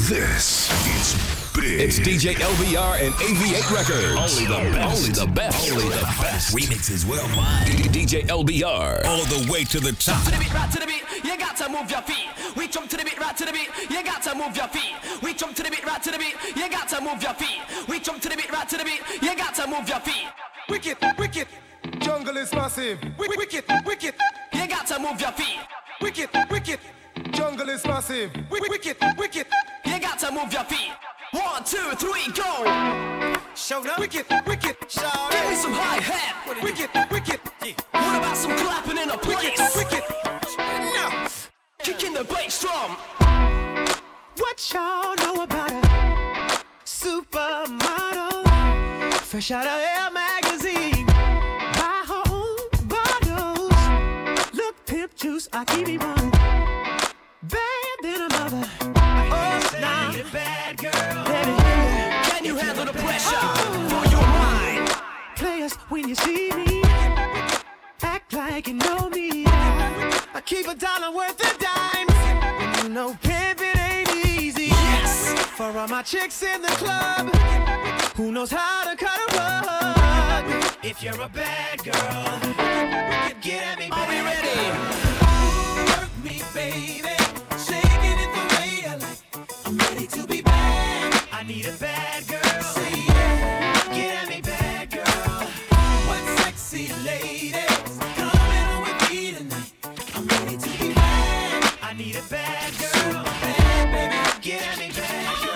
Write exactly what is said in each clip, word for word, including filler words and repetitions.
This is big. It's D J L B R and A V eight Records. Only the best. Only the best. Only the best. Remixes worldwide. D J L B R. All the way to the top. To the beat, right to the beat, you got to move your feet. We jump to the beat, right to the beat, you got to move your feet. We jump to the beat, right to the beat, you got to move your feet. We jump to the beat, right to the beat, you got to move your feet. Wicked, wicked, jungle is massive. Wicked, wicked, wicked, you got to move your feet. Wicked, wicked, jungle is massive. Wicked, wicked, wicked, you got to move your feet. One, two, three, go. Show up. Wicked, wicked, shout. Give me some high hat. Wicked, wicked, What about some clapping in a place? wicked. Now, kicking the bass drum. What y'all know about a supermodel? Fresh out of Elle magazine. Buy her own bottles. Look, pimp juice, I keep it running. Bad than a mother. Oh, now, bad girl. Baby, Can you handle the pressure Oh. for your mind? players, when you see me, act like you know me. I keep a dollar worth of dimes. You know, pimpin' ain't easy. Yes. For all my chicks in the club, who knows how to cut a rug? If you're a bad girl, get at me, baby. Are we ready? Work me, baby. Shaking it the way I like. I'm ready to be bad. I need a bad girl. Say yeah. Get at me, bad girl. What sexy ladies coming with me tonight? I'm ready to be bad. I need a bad girl. Bad baby. Get at me, bad girl.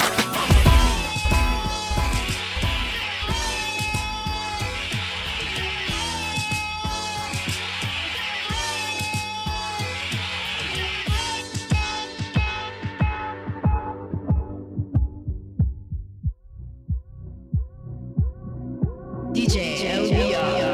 D J L B R.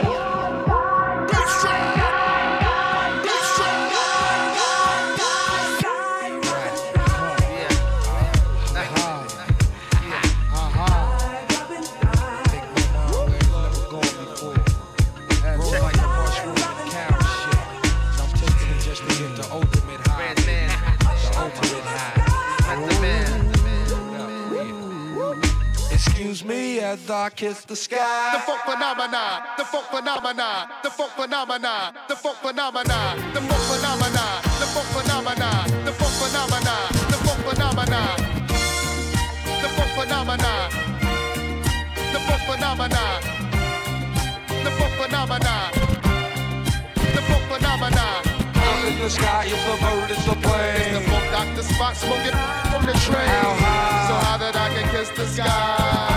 Excuse me as I kiss the sky. The folk phenomena, the folk phenomena, the folk phenomena, the folk phenomena, the folk phenomena, the folk phenomena, the folk phenomena, the folk phenomena, the folk phenomena, the folk phenomena, the folk phenomena, the folk phenomena. Up in the sky, it's a bird, it's a It's the plane. folk Doctor Spock smoking from the train. How high? So high that I can kiss the sky.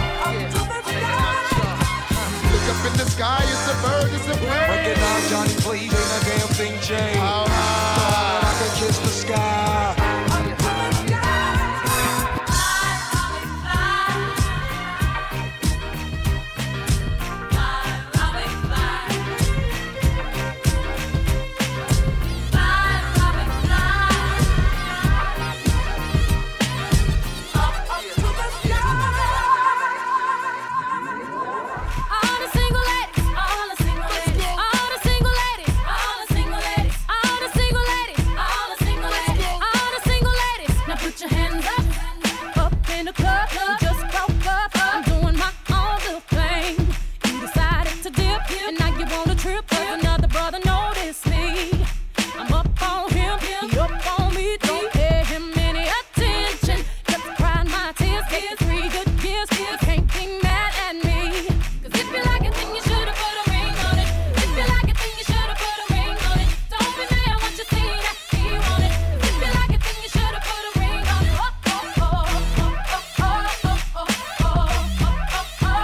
Look up in the sky, it's a bird, it's a plane. Recognize Johnny, please, ain't a damn thing changed. How So high? I can kiss the sky. All the single ladies, all the single ladies, all the single ladies, all the single ladies, all the single ladies, all the single ladies, all the single ladies. Now put your hands up, up in the club. You just broke up. I'm doing my own little thing. You decided to dip, and now you want a trip. 'Cause another brother noticed me. I'm up on him, he up on me. Don't pay him any attention. Just crying my tears, get three good years. You can't be mad at me. 'Cause if you like it, then you should've put a ring on it. If you like it, then you should've put a ring on it. Don't be mad what you see that he want it. If you like it, then you should've put a ring on it. Oh, oh, oh, oh, oh, oh, oh, oh, oh, oh, oh,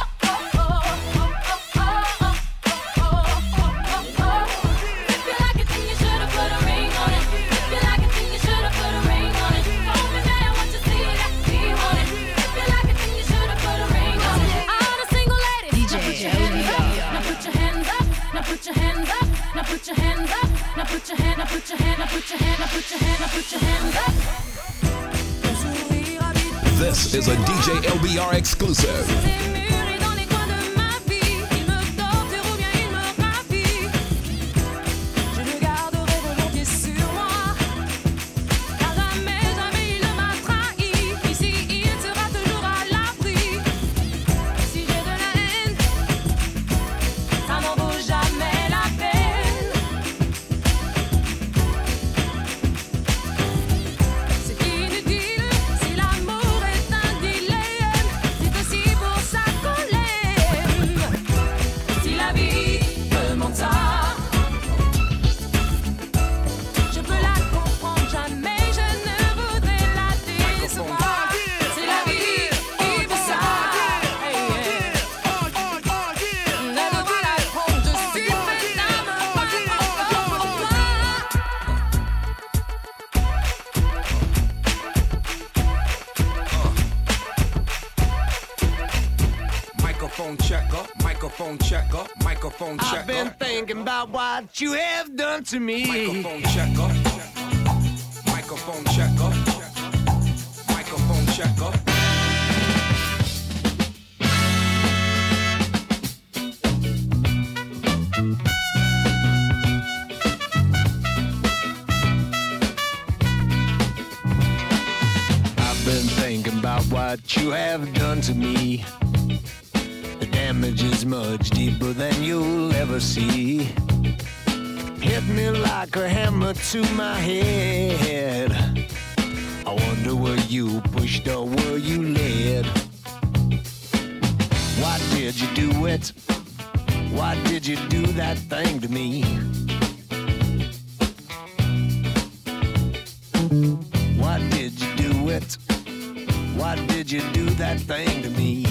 If you like it, then you should've put a ring on it. If you like it, then you should've put a ring on it. Don't be mad what you see that he want it. If you like it, then you should've put a ring on it. All the single ladies, D J now put your hands up. Now put your hands up. Now put your hands up. Now put your hands up. Now put your hand. Now put your hand. Now put your hand. Now put your hand. Now put your hands up. This is a D J L B R exclusive. Des murs et dans les coins de ma vie, il me torture ou bien il me ravit. Je le garderai volontiers sur moi, car jamais, jamais il ne m'a trahi. Microphone checker, microphone checker, microphone checker. I've been thinking about what you have done to me. Microphone checker, microphone checker, microphone checker. I've been thinking about what you have done to me. The damage is much deeper than you'll ever see. Hit me like a hammer to my head. I wonder were you pushed or were you led? Why did you do it? Why did you do that thing to me? Why did you do it? Why did you do that thing to me?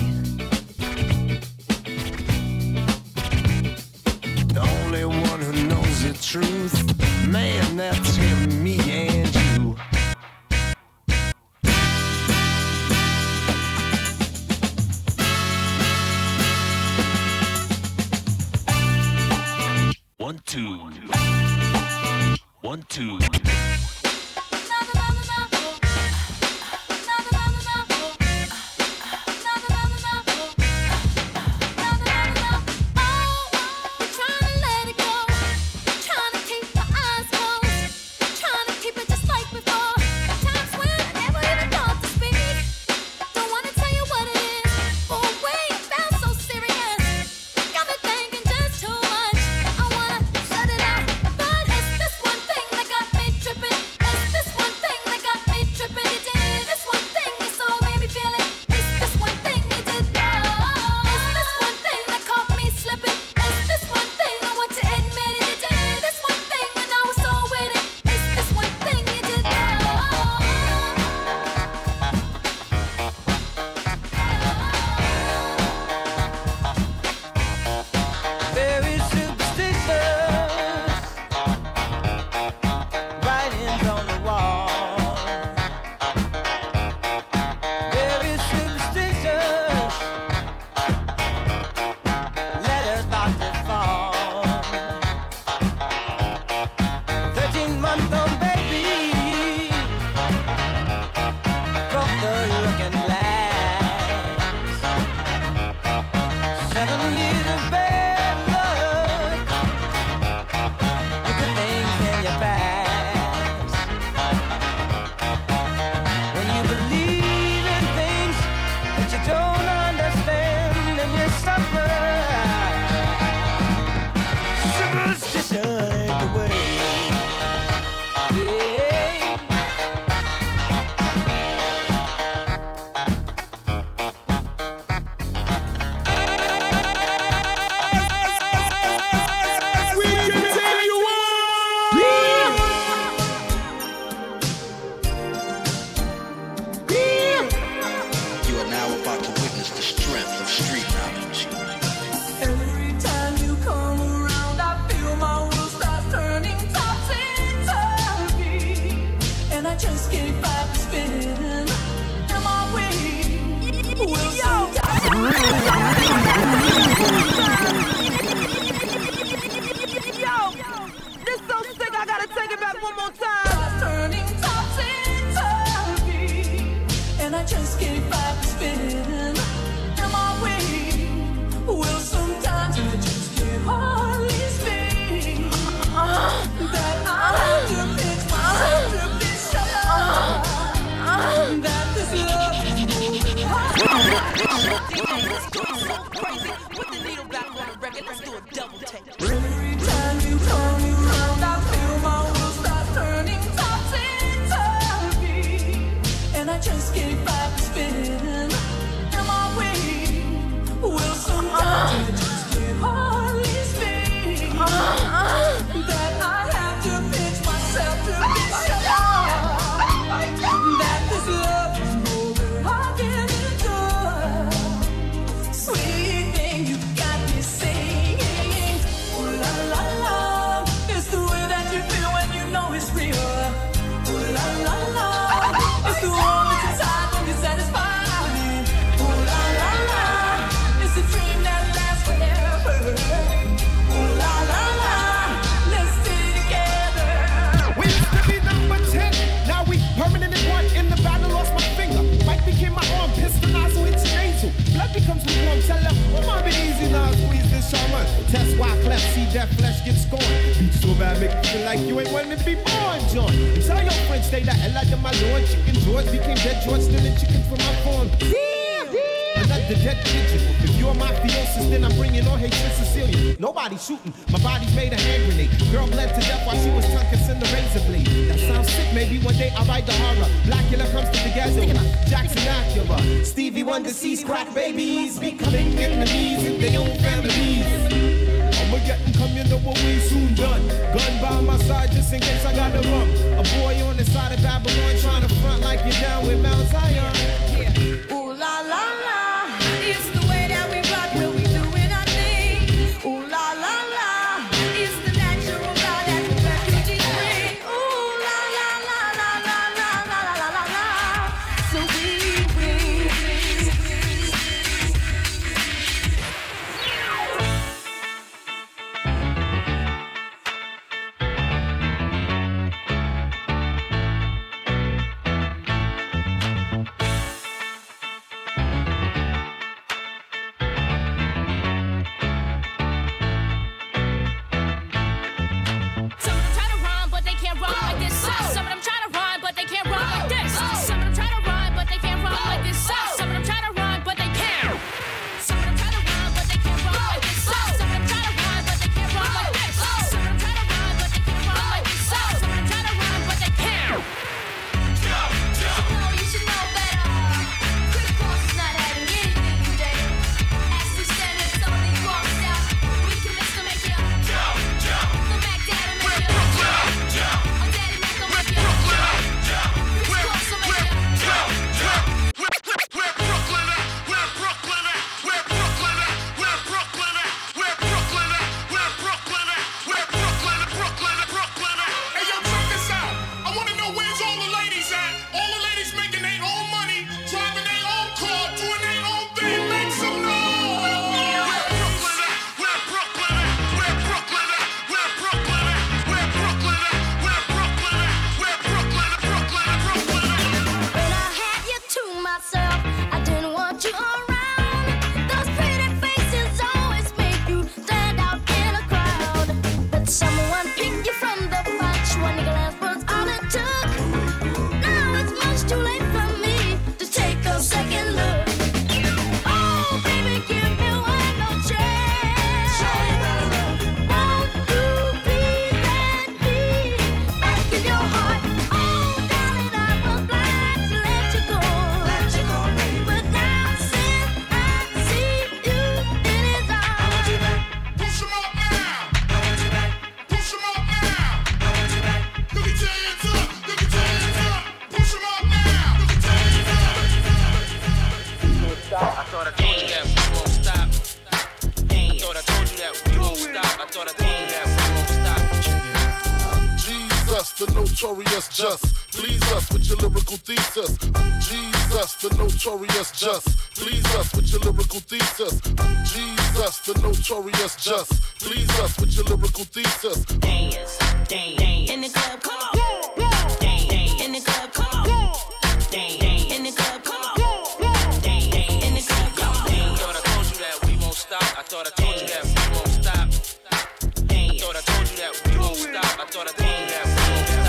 The only one who knows the truth, man, that's him, me and you. One, two. One, two. Got me just get scorned. Beat so bad, make you feel like you ain't wanting to be born, John. Tell your friends, stay the hell out of my lawn. Chicken George became dead George, stealing chickens from my farm. Damn, damn. Another dead pigeon. If you're my mafiosis, then I'm bringing all hate to Sicilian. Nobody shooting, my body's made a hand grenade. Girl bled to death while she was tongue kissing the razor blade. That sounds sick, maybe one day I'll write the horror. Blackula comes to the ghetto, Jackson Acura. Stevie Wonder sees crack babies becoming enemies in their own families. I'ma get and come, you know what we soon done. Gun by my side just in case I gotta run. A boy on the side of Babylon trying to front like you're down with Mount Zion. Yeah. Ooh la la la, it's the way that we rock when we doing our thing. Ooh la la la, it's the natural law that the refugees bring. Ooh la la la la la la la la la la. So we bring. the notorious just. Please us with your lyrical thesis. Jesus, the notorious just. Please us with your lyrical thesis. Jesus, the notorious just. Please us with your lyrical thesis. Dance, dance, in the club, come on. Dance, in the club, come on. Dance, in the club, come on. Dance, in the club, come on. I thought I told you that we won't stop. I thought I told you that we won't stop. I thought I told you that we won't stop. I thought I told you that we won't stop.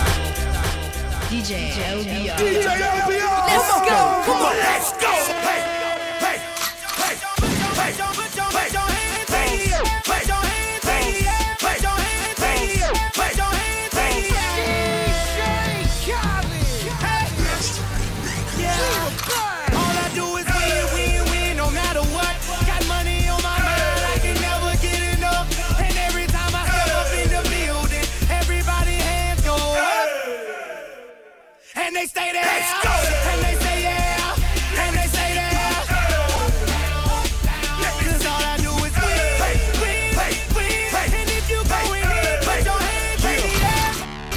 D J L B R. D J L B R. Let's go. Come on, let's go. Hey, hey, hey, hey, hey, put your hands in the air. Put your hands in the air. Put your hands in the air. Put your hands in the air. D J Khaled. Hey, yeah. All I do is win, win, win, no matter what. Got money on my mind, I can never get enough. And every time I step up in the building, everybody hands go up. And they stay there. Let's go. And they say yeah. And they say that. Cause all I do is win, win, win. And if you going in, put your hands in the air.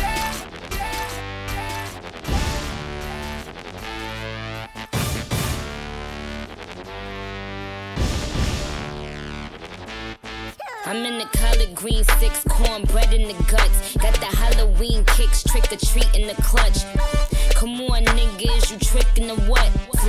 I'm in the collard green six, cornbread in the guts. Got the Halloween kicks, trick or treat in the clutch. Come on, niggas, you trickin' the what? Floats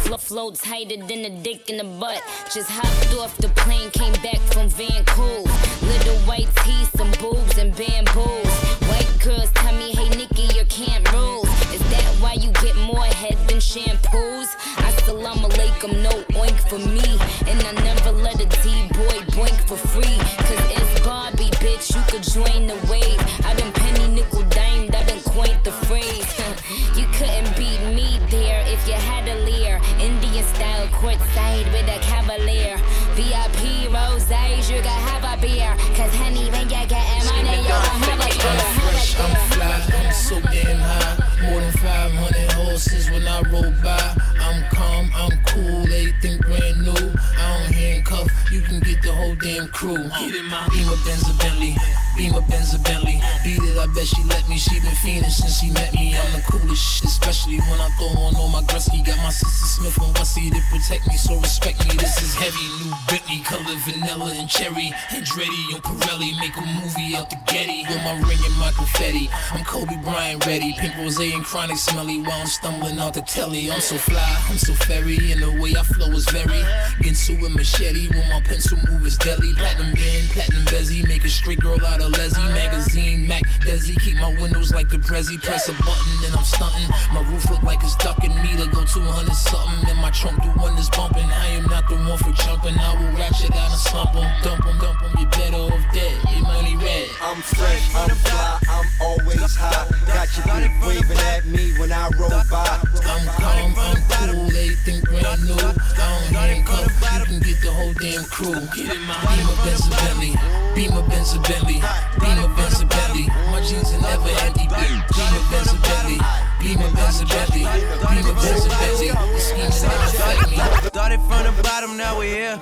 Flo- flow tighter than a dick in the butt. Just hopped off the plane, came back from Vancouver. Little white teeth, some boobs and bamboos. White girls tell me, hey Nikki, your camp rules. Is that why you get more head than shampoos? Assalamu alaikum, no oink for me. And I never let a D-boy boink for free. Cause it's Barbie, bitch, you could join the wave. I done penny nickel dimed, I done coined the phrase. You couldn't beat me there if you had a leer. Indian style courtside with a cavalier. V I P roses, you gotta have a beer. Cause honey, when you get money, you gon' have a beer. I'm fresh, I'm fly, I'm so damn high. More than five hundred horses when I roll by. I'm calm, I'm cool, everything brand new. I don't handcuff, you can get the whole damn crew. Get in my Beamer, Benz, a Bentley. Beamer, Benz, a Bentley. Beat it, I bet she let me. She been fiending since she met me. I'm the coolest shit, especially when I throw on all my Gretzky. Got my sister Smith and Wessie to protect me, so respect me. This is heavy, new Bentley, color vanilla and cherry. Andretti and Pirelli, make a movie out the Getty. With my ring and my confetti, I'm Kobe Bryant ready. Pink rose and chronic smelly while I'm stumbling out the telly. I'm so fly, I'm so fairy, and the way I flow is very Ginsu and machete, when my pencil move is deadly. Platinum band, platinum bezzy, make a straight girl out of Leslie. Magazine, Mac, Desi, keep my windows like the Prezi. Press a button and I'm stunting. My roof look like it's ducking me to go two hundred something. And my trunk do wonders bumping. I am not the one for jumping. I will ratchet out and slump em. Dump em, dump em, you better off dead. Your money red. I'm fresh, I'm fly, I'm always high. Got your bitch waving at me when I roll by. I'm calm, I'm cool, everything brand new. I don't handcuff, you can get the whole damn crew. Get in my Beamer, Benz, a Bentley. Beamer, Benz, a Bentley. Beamer, Benz, a Bentley. My jeans are never empty. Beamer, Benz, a Bentley. Beamer, Benz, a Bentley. Beamer, Benz, a Bentley. The schemes never affect me. Started from the bottom, now we're here.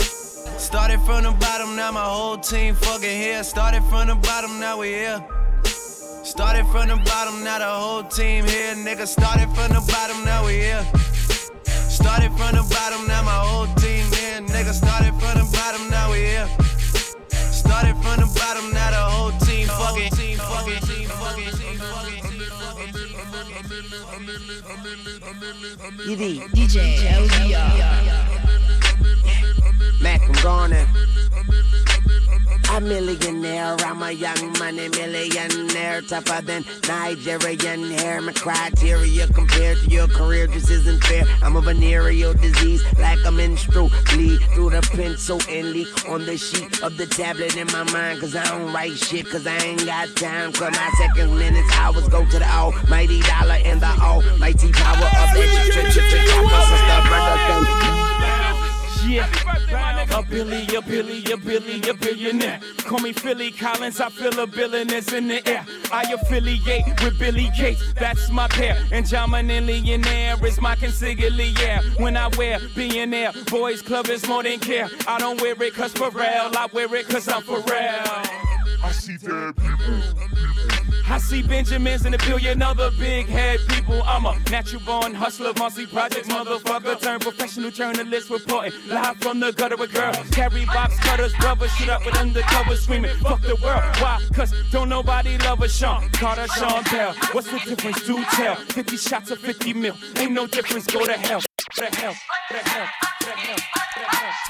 Started from the bottom, now my whole team fucking here. Started from the bottom, now we here. Started from the bottom, now the whole team here. Nigga, started from the bottom, now we here. Started from the bottom, now my whole team here. Nigga, started from the bottom, now we here. Started from the bottom, now the whole team fucking, team fucking, team fucking, team fucking. D J L B R. Mac, I'm gonna. A millionaire, I'm a young money millionaire, tougher than Nigerian hair. My criteria compared to your career just isn't fair. I'm a venereal disease, like a menstrual bleed through the pencil and leak on the sheet of the tablet in my mind. Cause I don't write shit, cause I ain't got time. Cause my seconds, minutes, hours go to the almighty dollar and the almighty power of that Yeah, a Billy, a Billy, a Billy, a billionaire. Call me Philly Collins, I feel a billionaires in the air. I affiliate with Billy Gates, that's my pair. And John Millionaire is my consigliere. When I wear billionaire, boys club is more than care. I don't wear it cause Pharrell, I wear it cause I'm Pharrell. I see bad people. I see Benjamins and a billion other big head people. I'm a natural born hustler, Marcy Projects, motherfucker. Turn professional journalist reporting live from the gutter with girls. Carry box cutters, rubber shit up with undercover screaming, fuck the world. Why? Cause don't nobody love a Sean Carter, Sean Bell. What's the difference? Do tell. fifty shots of fifty mil. Ain't no difference. Go to hell. Go to hell. Go to hell. Go to hell. Go to hell.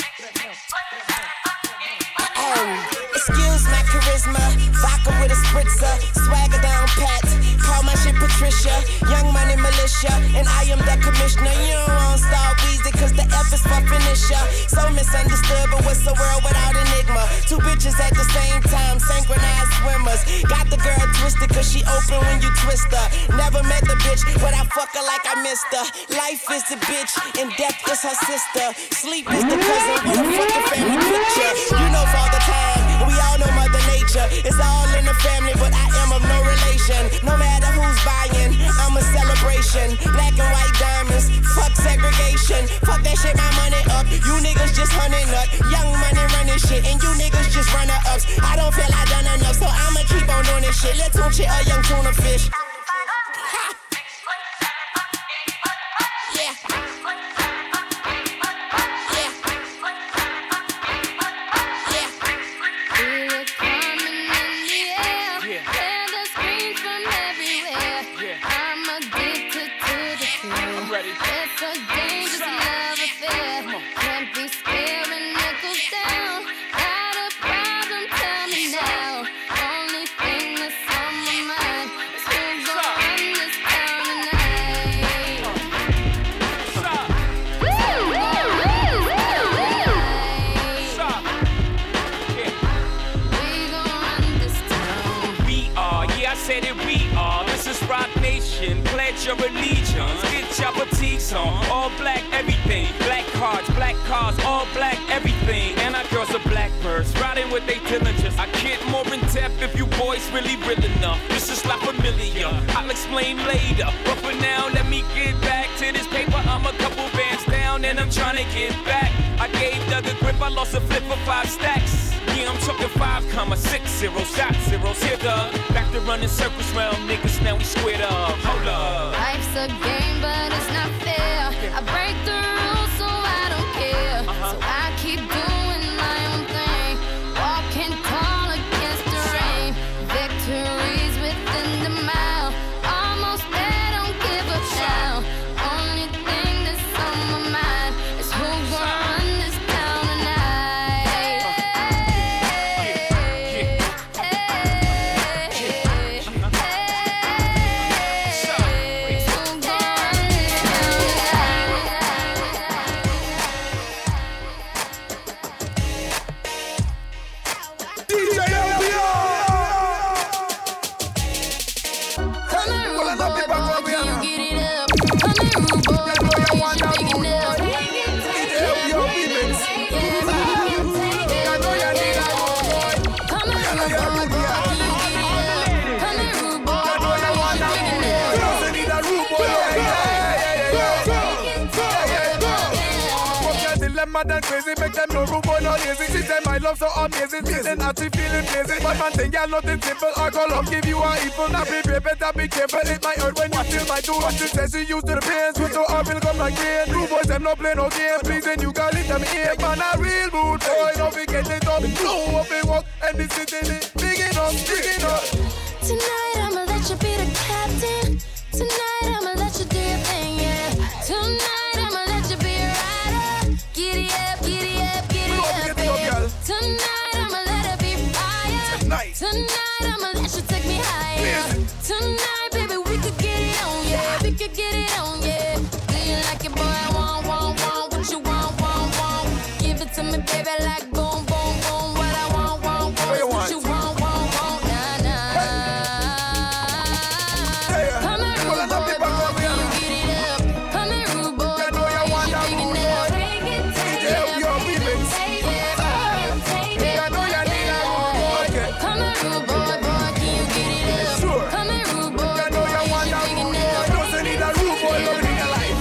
Oh, excuse my charisma, vodka with a spritzer, swagger down pat, call my shit Patricia, young money militia, and I am the commissioner. You don't want Star Weezy cause the F is for finisher. So misunderstood, but what's the world without enigma? Two bitches at the same time, synchronized swimmers. Got the girl twisted cause she open when you twist her. Never met the bitch, but I fuck her like I missed her. Life is the bitch, and death is her sister. Sleep is the cousin, what a fucking family picture. You know Father Time, and we all know Mother Nature. It's all in the family, but I am of no relation. No matter who's buying, I'm a celebration. Black and white diamonds, fuck segregation. Fuck that shit, my money up. You niggas just hunting up. Young money running shit, and you niggas just runner ups. I don't feel I done enough, so I'ma keep on doing this shit. Let's tune shit, a young tuna fish. Yeah. It's a dangerous your allegiance. Get your boutiques on, all black everything. Black cards, black cars, all black everything. And our girls are blackbirds, riding with they diligence. I get more in depth if you boys really real enough. This is not familiar, I'll explain later. But for now, let me get back to this paper. I'm a couple bands down and I'm trying to get back. I gave Doug a grip, I lost a flip for five stacks. Yeah, I'm talking five comma six zero shot zeros. Here, Doug, back to running circles round niggas, now we squared up. Hold up. Life's a game, but it's not fair. I break the rules, so I don't care. So I keep doing my own thing, walking tall against the rain. Victories within the mile, almost there, don't give up now. Only thing that's on my mind is who's gonna run this town tonight. Mad and crazy, make them no rude boy, no lazy. She say my love so amazing, see them actually feeling lazy. But man think y'all nothing simple, I go love give you a evil. Now prepare, better be careful, it might hurt when you feel my do. What she says she used to the pain, switch so up will come like rain. Rude boys them no play no game, pleasing you call it them here. Man a real rude boy, don't forget it up, blow up and walk, and this city, big enough, big enough. Tonight I'ma let you be the captain. Tonight I'ma let you do your thing, yeah. Tonight I'ma let you be a rider. Giddy up, giddy up, giddy up, yeah. Tonight I'ma let it be fire. Tonight, Tonight I'ma let you take me higher. Tonight, baby, we could get it on, yeah. We could get it on, yeah. Do you like it, boy? I want, want, want. What you want, want, want. Give it to me, baby, like boom, boom, boom. What I want, want, want. What you want, want, want. Nah, nah. Come here, rude boy, boy, can you get it up? Come here, rude boy, boy, can you big enough? Take it, take it, take it, take it, take it. Come here, rude boy, boy, can you get it up? Come here, rude boy, boy, can you big enough? Doesn't need a rude boy loving in your life.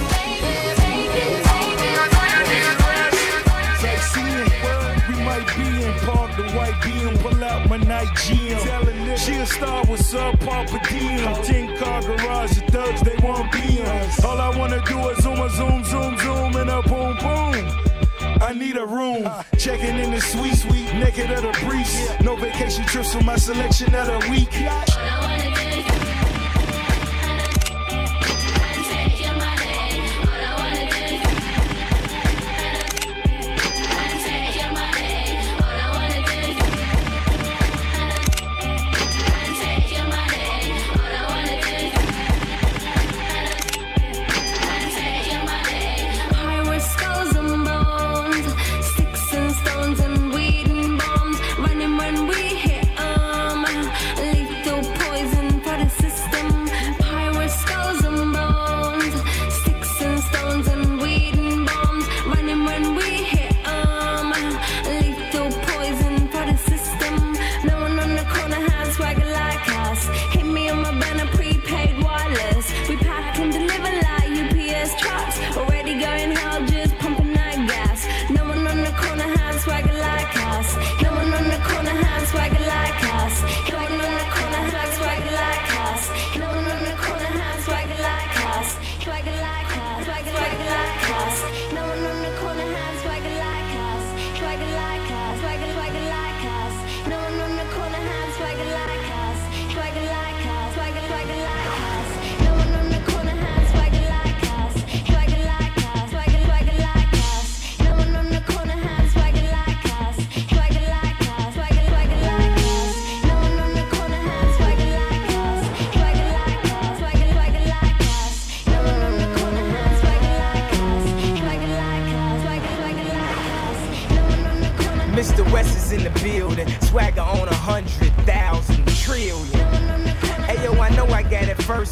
Sightseeing, we might be in Park the White Beam, pull out my night gym. She a star with subpar per diem. Ten car garage, the thugs they want B Ms. All I wanna do is zoom a zoom, zoom, zoom, and a boom, boom. I need a room, checking in the sweet, sweet, naked at a breeze. No vacation trips for my selection of the week. Mister West is in the building, swagger on a hundred thousand trillion. Hey yo, I know I got it first,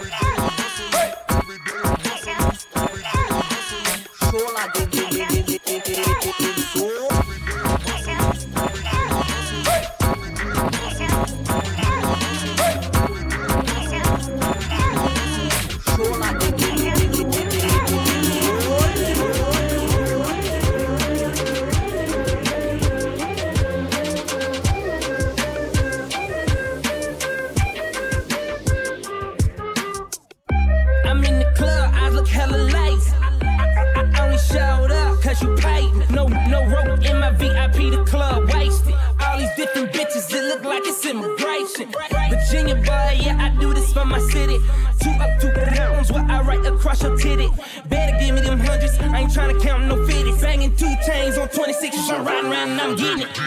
Every day I'm hustling, every day I'm hustling. look hella lazy. I, I, I only showed up cause you paid me. No, no rope in my V I P, the club wasted. All these different bitches, it look like it's immigration. Virginia boy, yeah, I do this for my city. Two up, two pounds, what I write across your titty. Better give me them hundreds, I ain't tryna count no fifties. Banging two chains on twenty-sixes, I'm riding around and I'm getting it.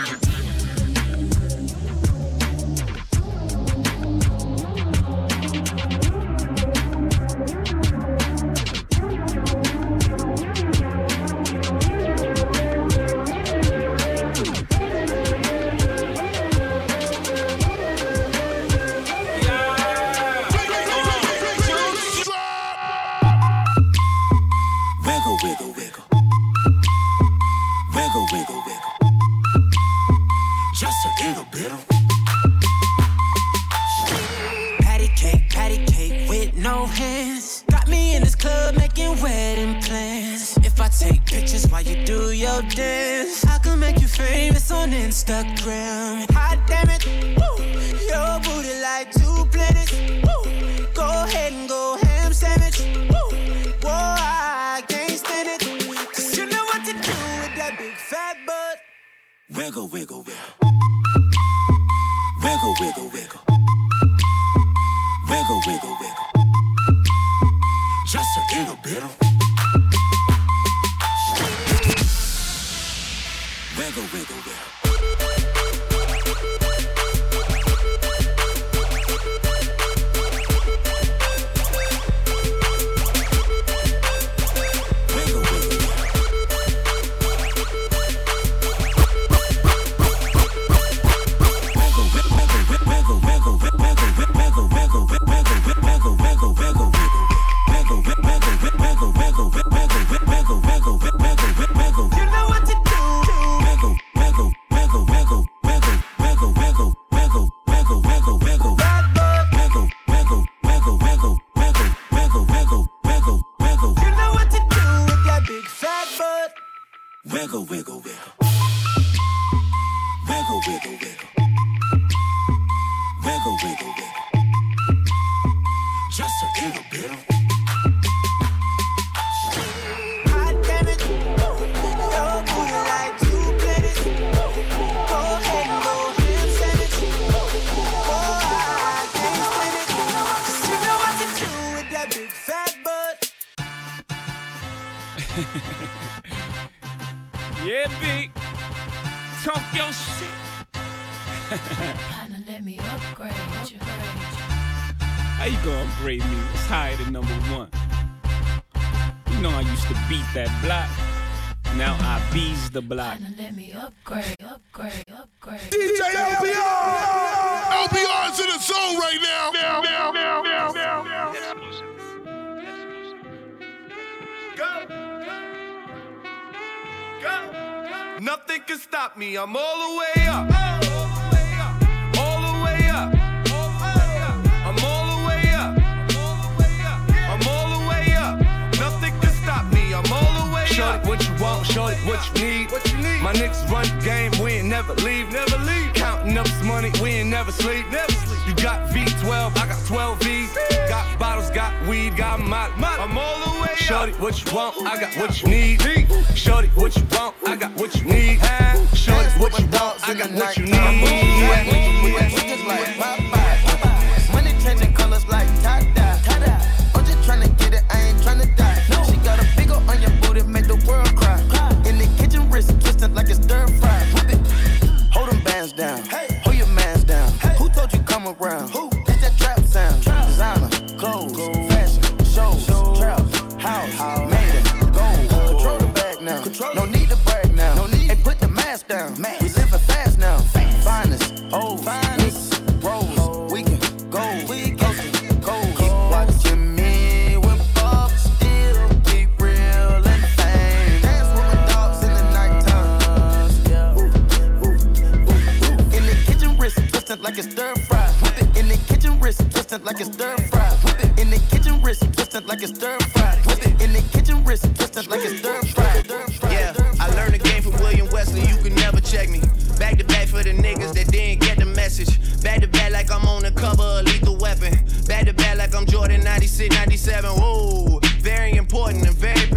Instagram. Hot damn it, woo. Your booty like two planets. Woo. Go ahead and go ham sandwich. Woo. Whoa, I can't stand it. Cause you know what to do with that big fat butt. Wiggle, wiggle, wiggle. Wiggle, wiggle, wiggle. Wiggle, wiggle, wiggle. Just a little bit. Wiggle, wiggle, wiggle. Wiggle, wiggle, wiggle. Wiggle, wiggle, wiggle. Wiggle, wiggle, wiggle. Just a little bit. Hot damn it. Your booty like two planets. Go ahead and go ham sandwich. Oh, I can't stand it. Cause you know what to do with that big fat butt. Yeah, big. Talk your shit. Partner, let me upgrade you. How you gonna upgrade me? It's higher than number one. You know I used to beat that block. Now I bees the block. Partner, let me upgrade, upgrade, upgrade. D J L B R! L B R is in the zone right now. Now, now, now, now, now, now. Go. Go. Nothing can stop me. I'm all the way up. All the way up. All the way up. I'm all the way up. I'm all the way up. Nothing can stop me. I'm all the way up. Shorty, what you want? Shorty, what you need? What you need? My niggas run the game. We ain't never leave. Never leave. Counting up some money. We ain't never sleep. Never sleep. You got V twelve. I got twelve V's. Got bottles. Got weed. Got molly. I'm all the way up. Shorty, what you want? I got what you need. Shorty, what you want? I got what you need. Shorty, what you want? I got what you need. Money changing colors like tie-dye. I'm just tryna get it, I ain't tryna die. She got a big ol' on your booty, make the world cry. In the kitchen, wrist twisted like it's stir fry. Whip it, hold them bands down, hold your mans down. Who told you come around? It's that trap sound. Designer, clothes, fashion, shows, trap, house, made it, gold. Control the bag now, no need to brag now. Hey, put the mask down, we living fast now. Finest, old, finest, rose, we can go, we can go. Keep watching me when Bob still keep real and fame. Dance with my dogs in the nighttime. In the kitchen, wrist twisted like it's stir fry. Whip it in the kitchen, wrist twisted like it's stir fry. Whip it in the kitchen, wrist twisted like it's stir fry. Whip it in the kitchen, wrist twisted like it's stir fry. Yeah, I learned the game from William Wesley. You can never check me. Back to back for the niggas that didn't get the message. Back to back like I'm on the cover of Lethal Weapon. Back to back like I'm Jordan ninety-six, ninety-seven. Whoa, very important.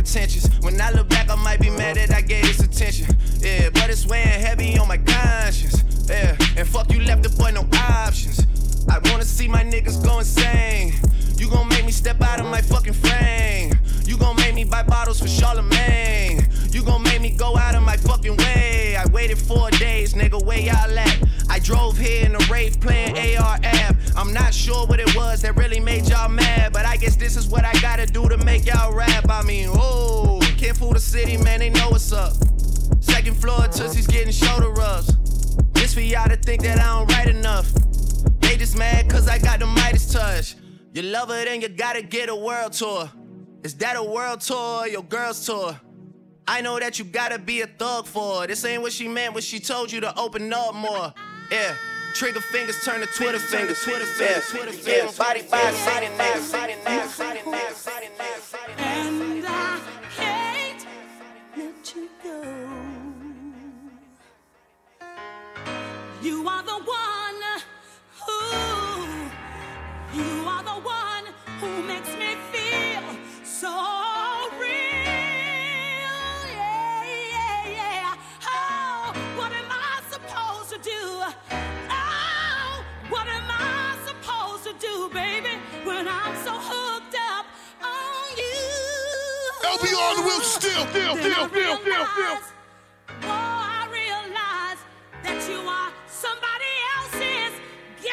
pretentious. When I look back, I might be mad that I gave this attention. Yeah, but it's weighing heavy on my conscience. Yeah, and fuck you left the boy no options. I wanna see my niggas go insane. You gon' make me step out of my fucking frame. You gon' make me buy bottles for Charlemagne. You gon' make me go out of my fucking way. I waited four days, nigga, where y'all at? I drove here in a rave playing A R Ab. I'm not sure what it was that really made y'all mad, but I guess this is what I gotta do to make y'all rap. I mean, oh, can't fool the city, man, they know what's up. Second floor, Tootsie's getting shoulder rubs. This for y'all to think that I don't write enough. They just mad cause I got the Midas touch. You love her, then you gotta get a world tour. Is that a world tour or your girl's tour? I know that you gotta be a thug for her. This ain't what she meant when she told you to open up more. Yeah, trigger fingers turn to Twitter fingers. Twitter fingers, Twitter fingers. Body by city niggas, city niggas, city niggas, city niggas. And I can't let you go. You are the one who, you are the one who makes me feel so real. Yeah, yeah, yeah. Oh, what am I supposed to do? Oh, what am I supposed to do, baby, when I'm so hooked up on you? L B R on the wheel, still, still, still, still, still, still. Oh, I realize that you are somebody else's guy.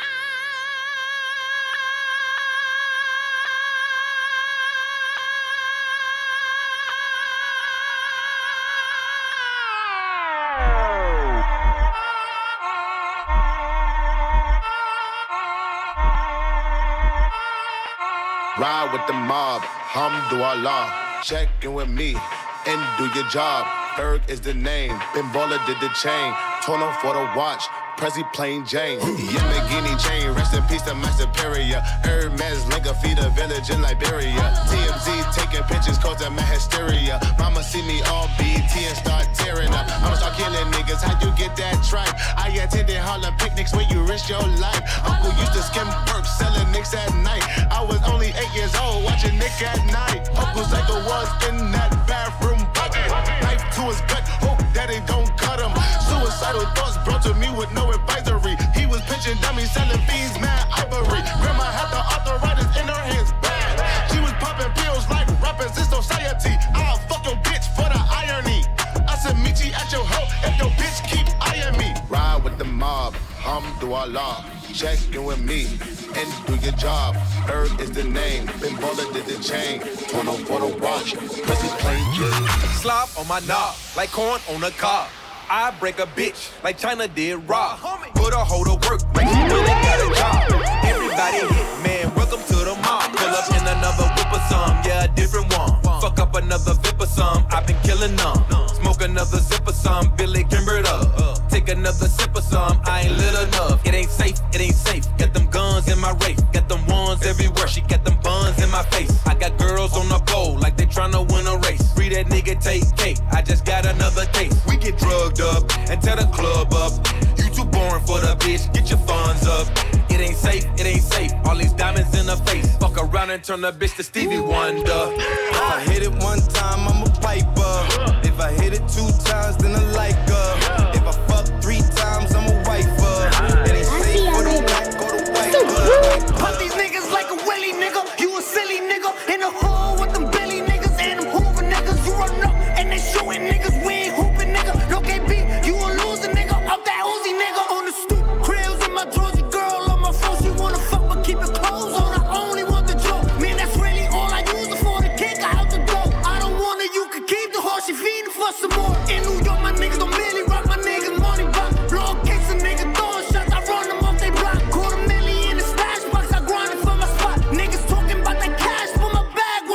Ride with the mob, Hamdulillah. Check in with me and do your job. Berg is the name, Ben Baller did the chain. Tono for the watch, Prezi plain Jane. Yamagini chain, rest in peace to my superior. Hermes Linka feed a village in Liberia. T M Z taking pictures causing my hysteria. Mama see me all B T and start tearing up. I'ma start killing niggas, how you get that tripe? I attended Harlem picnics where you risk your life. Uncle used to skim perks, selling nicks at night. I was only eight years old, watching Nick at night. Uncle Psycho was in that bathroom bucket. Knife to his gut, hope that it don't cut him. Suicidal thoughts brought to me with no advisory. He was pitching dummies, selling fiends, mad ivory. Grandma had the arthritis in her hands, bad. She was popping pills like rappers in society. I'll fuck your bitch for the irony. I said meet you at your hoe if your bitch keep eyeing me. Ride with the mob, Hamdulillah. Check in with me and do your job. Berg is the name, Ben Baller did the chain. Tono for the watch, Prezi plain Jane. Slop on my knob, like corn on a cob. I break a bitch like China did Rob. Put a hoe to work like she really got a job. Everybody hit, man, welcome to the mob. Pull up in another whip or some, yeah, a different one. Fuck up another vip or some, I've been killing them. Smoke another zip or some, Billy Kimbered up. Take another sip or some, I ain't lit enough. It ain't safe, it ain't safe. Got them guns in my race, got them ones everywhere. She got them buns in my face. I got girls on the pole like they tryna win a race. Free that nigga, take cake, I just got another case. We get drugged up and tear the club up. You too boring for the bitch, get your funds up. It ain't safe, it ain't safe. All these diamonds in her face. Fuck around and turn the bitch to Stevie Wonder. If I hit it one time, I'm a piper. If I hit it two times, then I like her. If I fuck three times, I'm a wifer. It ain't safe for the black or the white. Pop these niggas like a willy nigga. You a silly nigga in the hood with them Billy niggas and them Hoover niggas. You run up and they shooting niggas. We ain't hooping nigga. No K B, you a loser nigga. Up that Uzi nigga on the stoop. Krills in my drawers, your girl on my phone. She wanna fuck but keep it clothes on. I only want the joke. Man, that's really all I use it for. The kick out the door. I don't want it, you can keep the horse. She feeding for some more. In New York, my niggas don't really rock. My niggas money rock. Blow kicks and niggas throwing shots. I run them off they block. Quarter million in the stash box. I grind it for my spot. Niggas talking about that cash for my bag.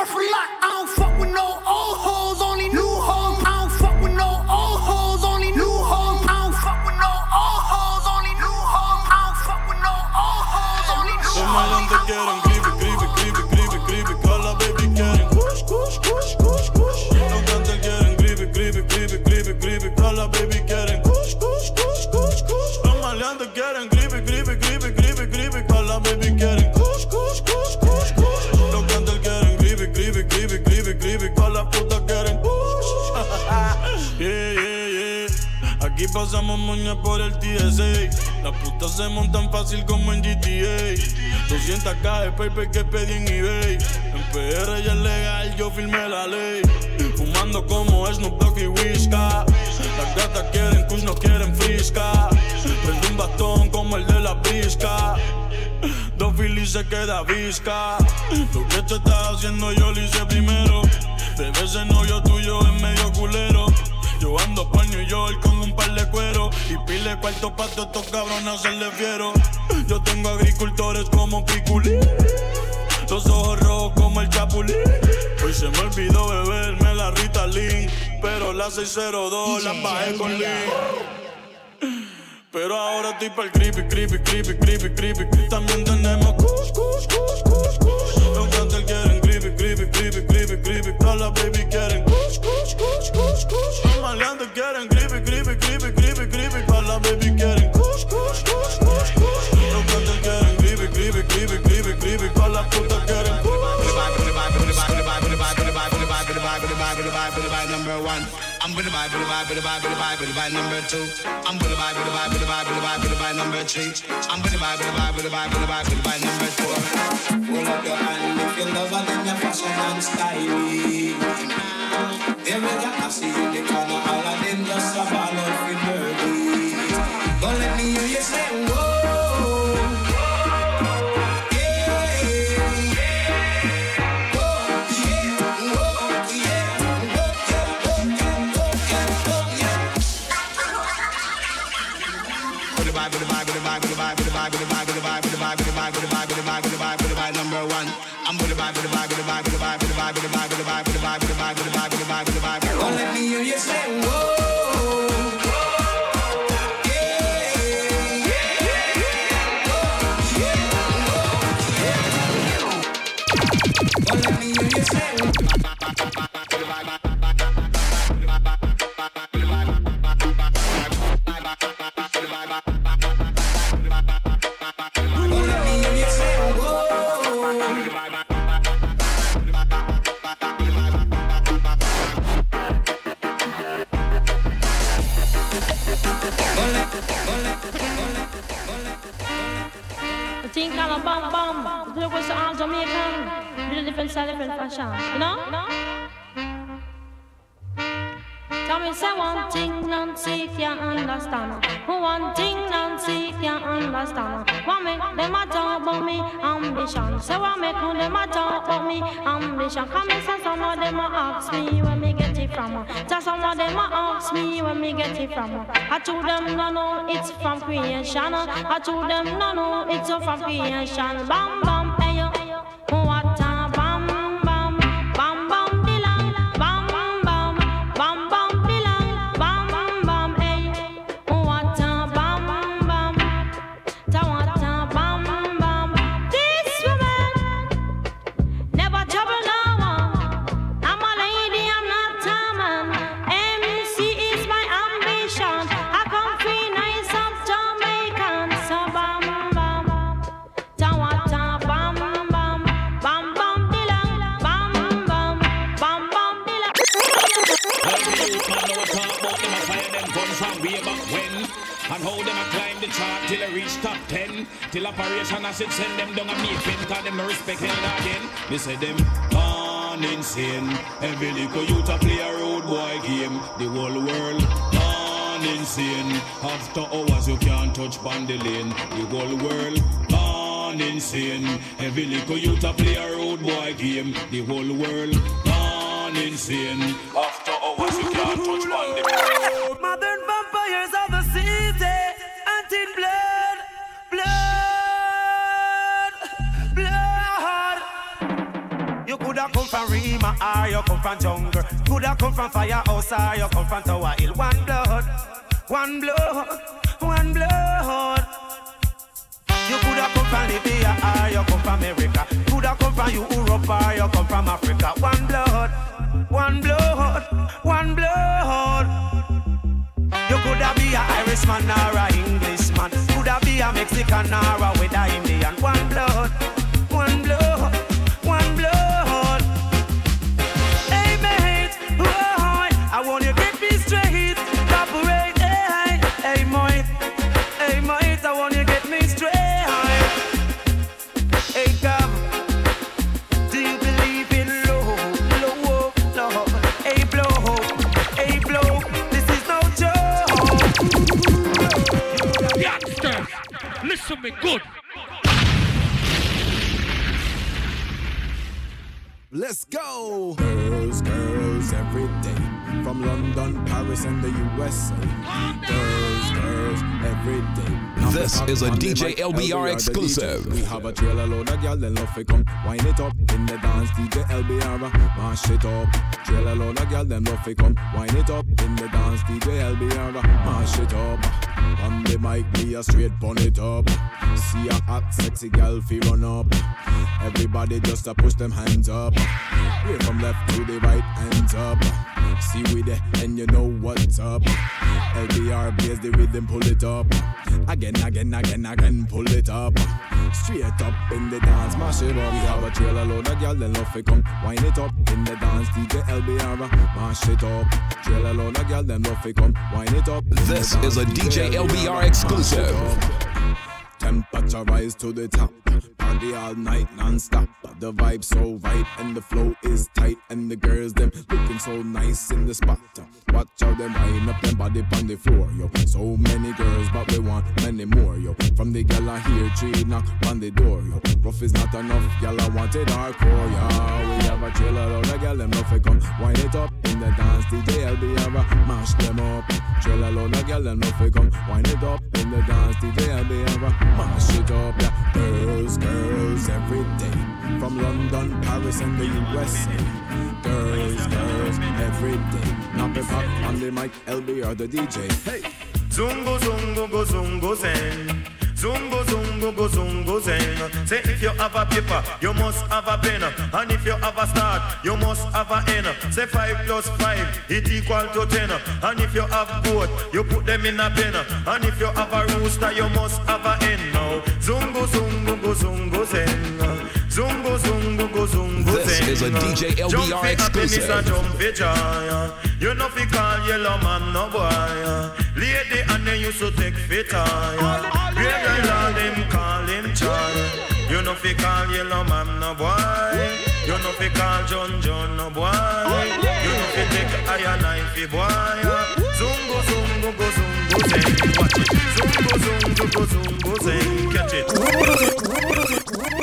pasamos moña por el T S A. Las putas se montan fácil como en G T A. doscientas K de paper que pedí en eBay. En P R ya es legal, yo firmé la ley. Fumando como Snoop Dogg y Whisca. Las gatas quieren kush, no quieren frisca. Prende un bastón como el de la brisca. Dos Phillies se queda visca. Lo que te estás haciendo yo lo hice primero. Bebé, ese novio tuyo es medio culero. Yo ando por New York con un par de cuero y pile cuarto pa' todos estos cabrones hacerle fiero. Yo tengo agricultores como Piculín, los ojos rojos como el Chapulín. Hoy se me olvidó beberme la Ritalin, pero la seis cero dos la bajé con Lean. Pero ahora estoy pa'l creepy, creepy, creepy, creepy, creepy. También tenemos kush, kush, kush, kush, kush. Los gangsters quieren creepy, creepy, creepy, creepy, creepy. Todas las baby quieren kush, kush, kush, kush, kush. Los maleantes quieren creepy, creepy, creepy, creepy, creepy. Todas las baby quieren kush, kush, kush, kush, kush. Los gangsters quieren creepy, creepy, creepy, creepy, creepy. Todas las putas quieren kush. Number one, I'm gonna buy, gonna buy, gonna buy, gonna buy, gonna buy number two. I'm gonna buy, gonna buy, gonna buy, gonna buy, gonna buy number three. I'm gonna buy, gonna buy, gonna buy, gonna buy, gonna buy number four. Hold up your hand if you love and then your fashion and styling. There we go, I see you in the corner, all of them just a ball out with birdies. Don't let me hear you say whoa. Number one, I'm gonna buy, gonna buy, gonna buy, gonna buy, gonna buy, gonna buy, gonna buy, gonna buy, gonna buy, gonna buy, gonna buy, gonna buy. Don't let me hear you say whoa. Different fashion, you know? Tell me, say one thing, Nancy can't understand. One thing, Nancy can't understand. What make them a talk about me ambition? Say what make them a talk about me ambition? Come and say some of them a ask me where me get it from. Just some of them a ask me where me get it from. I told them no, no, it's from creation. I told them no, no, it's from creation. Bam, bam, hey yo, what? Till I reach top ten, till operation I should send them down a me pen, cause them no respect hell again. Me say them gone insane. Every little youth a play a road boy game. The whole world gone insane. After hours you can't touch on the lane. The whole world gone insane. Every little youth a play a road boy game. The whole world gone insane. After hours you can't touch on the lane. Modern vampires of the city. In blood, blood, blood. You coulda come from Rima or you come from jungle. Coulda come from firehouse or you come from Tower Hill. One blood, one blood, one blood. You coulda come from Libya or you come from America. Coulda come from Europe or you come from Africa. One blood, one blood, one blood. You coulda be a Irishman or a Englishman. Coulda be a Mexican or a with a Indian. One blood, one blood, one blood. Hey mate, oh, I want you get me straight. Operate, hey, me good. Let's go! Girls, girls, every day. From London, Paris, and the U S A. Girls, girls, every day. This is a D J L B R exclusive. We have a trailer load of girl, then love to come wind it up in the dance. D J L B R, mash it up. Trailer load of girl, then love to come wind it up in the dance. D J L B R, mash it up. On the mic, me a straight bun it up. See a hot, sexy girl, fi run up. Everybody just a push them hands up. Way from left to the right, hands up. See we there, and you know what's up. L B R plays the rhythm, pull it up. Again, again, again, again, pull it up. Straight up in the dance, mash it up. We have a trailer load of girl, then love to come wind it up in the dance. D J L B R, mash it up. Trailer load of girl, then love to come wind it up. This is a D J L B R exclusive. Temperature rise to the top. Party all night non-stop. The vibe so right and the flow is tight. And the girls them looking so nice in the spot. Watch how them wind up them body on the floor, yo. So many girls but we want many more, yo. From the gal I hear three knock on the door, yo. Rough is not enough, gal I want it hardcore, yo. We have a trailer load of gal them love to come wind it up in the dance. D J L B R mash them up. Trailer load of gal them love to come wind it up in the dance. D J L B R mash it up, yeah. Girls, girls, every day. From London, Paris, and the U S A. Girls, girls, every day. Knock it up on the mic, L B R the D J. Hey! Zungo, zungo, go, zungo, zen. Zungo, zungo, go, zungo, zen. Say if you have a paper, you must have a pen. And if you have a start, you must have a end. Say five plus five, it equal to ten. And if you have both, you put them in a pen. And if you have a rooster, you must have a hen. Now, zungo, zungo, go, zungo, zen. Zungo, zungo, go, zungo, This zen. is a D J L B R exclusive. Jump for joy. You know fi call yellow man no boy. Lady and they used to take fit on. Great all them call him Charlie. You know fi call yellow man no boy. You know fi call John John no boy. You know fi take iron knife boy. Zungo zungo go zungo zen. Watch it. Zungo zungo go zungo zen. Catch it.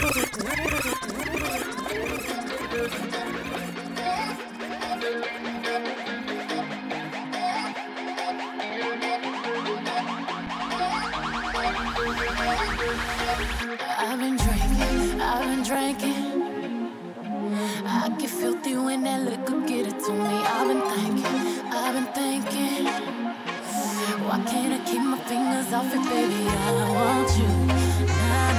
I've been drinking, I've been drinking. I get filthy when that liquor get it to me. I've been thinking, I've been thinking. Why can't I keep my fingers off it, baby? I want you, nah,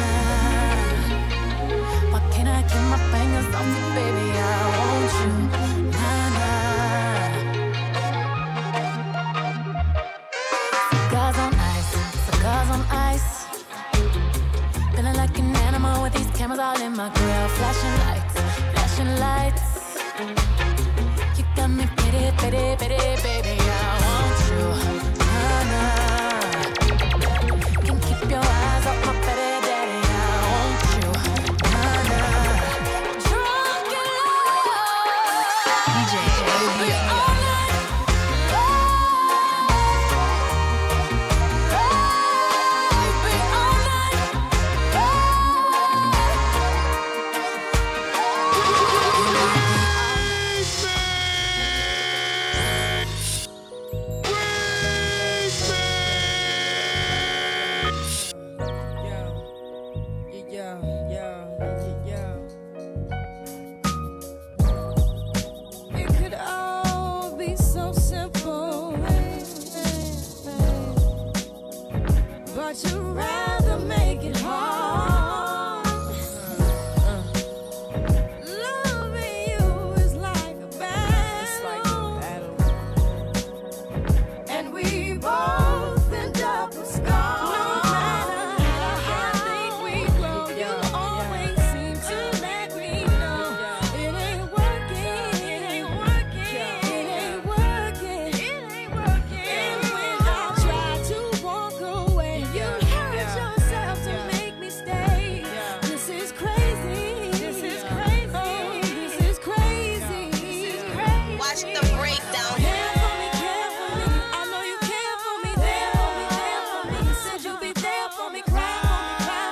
nah. Why can't I keep my fingers off it, baby? I want you, nah, nah. Cigars on ice, cigars on ice. Feeling like an animal with these cameras all in my grill. Flashing lights, flashing lights. You got me pity, pity, pity, baby. I want you, nah, nah. Can't keep your eyes off my baby daddy. I want you, nah, nah. Drunk in love. D J L B R. Care for me, cry for me, cry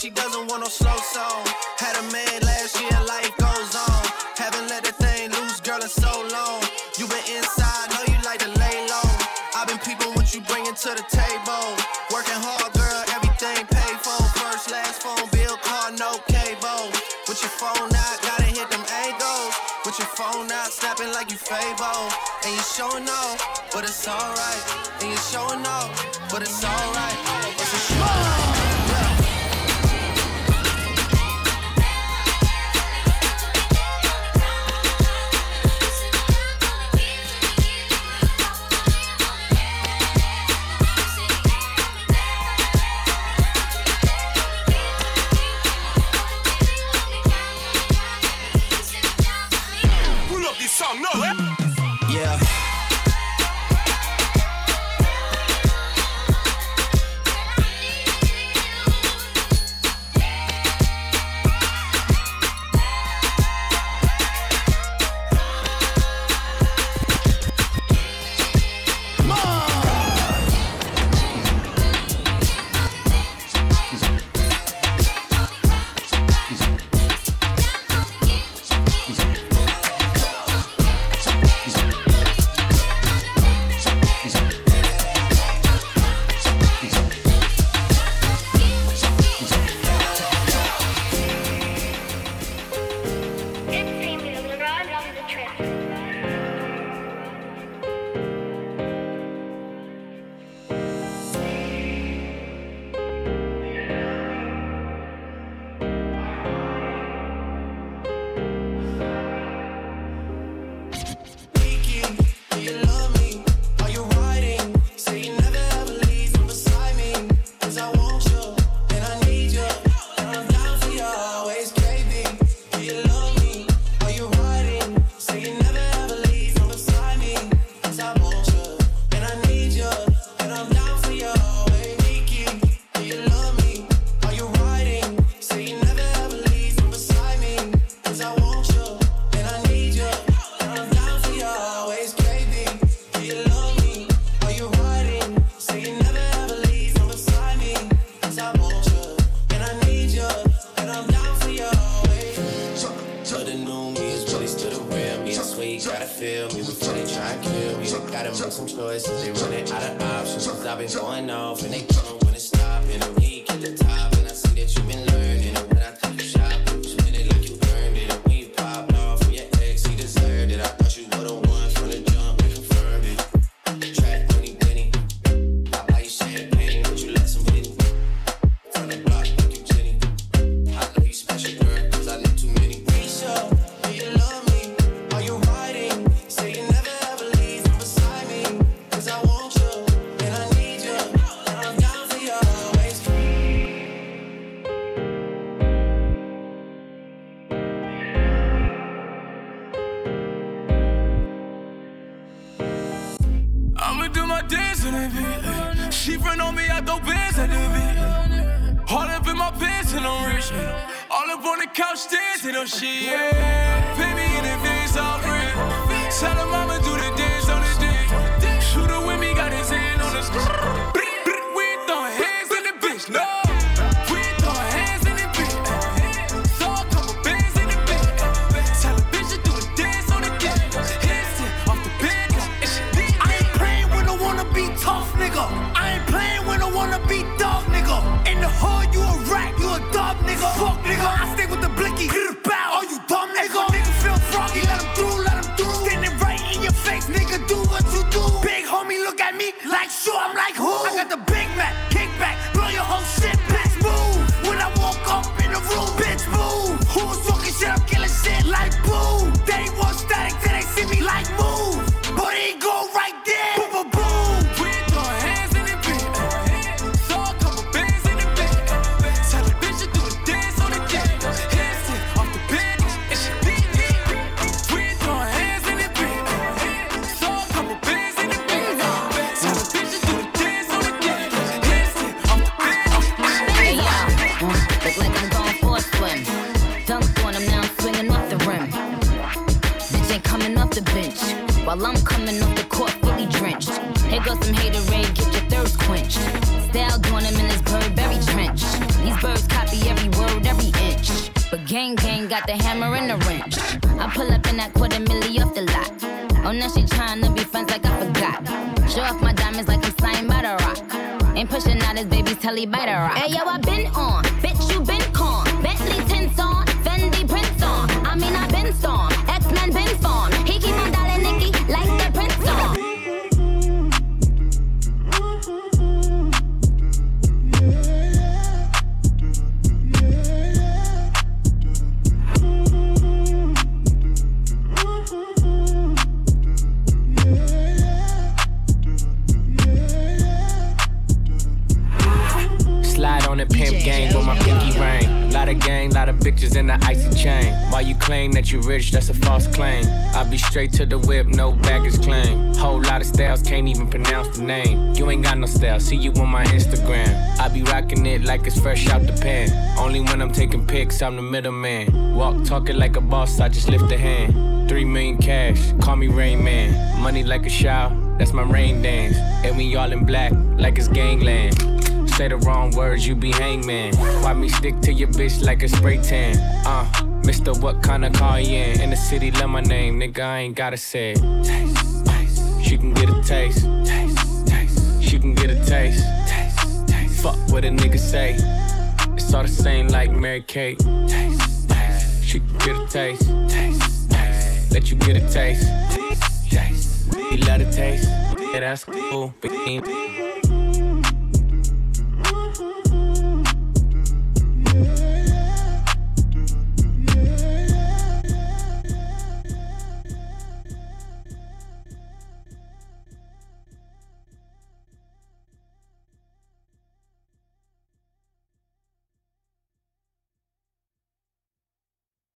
she doesn't want no slow song. Had a man last year, life goes on. Haven't let the thing loose, girl, in so long. You been inside, know you like to lay low. I've been peeping what you bringing to the table. Working hard, girl, everything paid for. First, last phone bill, car, no cable. With your phone out, gotta hit them angles. With your phone out, snapping like you Fable. And you showing off, but it's alright. And you showing off, but it's alright. It's a show. Song, no, eh? Yeah. I'm coming off the court fully drenched. Here goes some haterade, get your thirst quenched. Style doing them in this Burberry trench. These birds copy every word, every inch. But gang gang got the hammer and the wrench. I pull up in that quarter milli off the lot. Oh, now she tryna be friends like I forgot. Show off my diamonds like I'm signed by the rock. Ain't pushing out his baby's telly by the rock. Hey yo, I been on, bitch you been con. Bentley tints on, Fendi prints on. I mean I been storm, X-Men been formed. He keep on dialing Nicky like the Prince on. On the pimp gang with my pinky ring. Lot of gang, lot of bitches in the icy chain. While you claim that you rich, that's a false claim. I be straight to the whip, no baggage claim. Whole lot of styles, can't even pronounce the name. You ain't got no style, see you on my Instagram. I be rocking it like it's fresh out the pan. Only when I'm taking pics, I'm the middleman. Walk talking like a boss, I just lift a hand. Three million cash, call me Rain Man. Money like a shower, that's my rain dance. And we all in black, like it's gangland. Say the wrong words, you be hangman. Why me stick to your bitch like a spray tan? Uh, Mister What kind of car you in? In the city, love my name, nigga, I ain't gotta say it. Taste, taste. She can get a taste. Taste, taste. She can get a taste. Taste, taste. Fuck what a nigga say. It's all the same like Mary Kate. Taste, taste. She can get a taste. Taste, taste. Let you get a taste. Taste, taste. You love the taste. Yeah, that's cool, but you ain't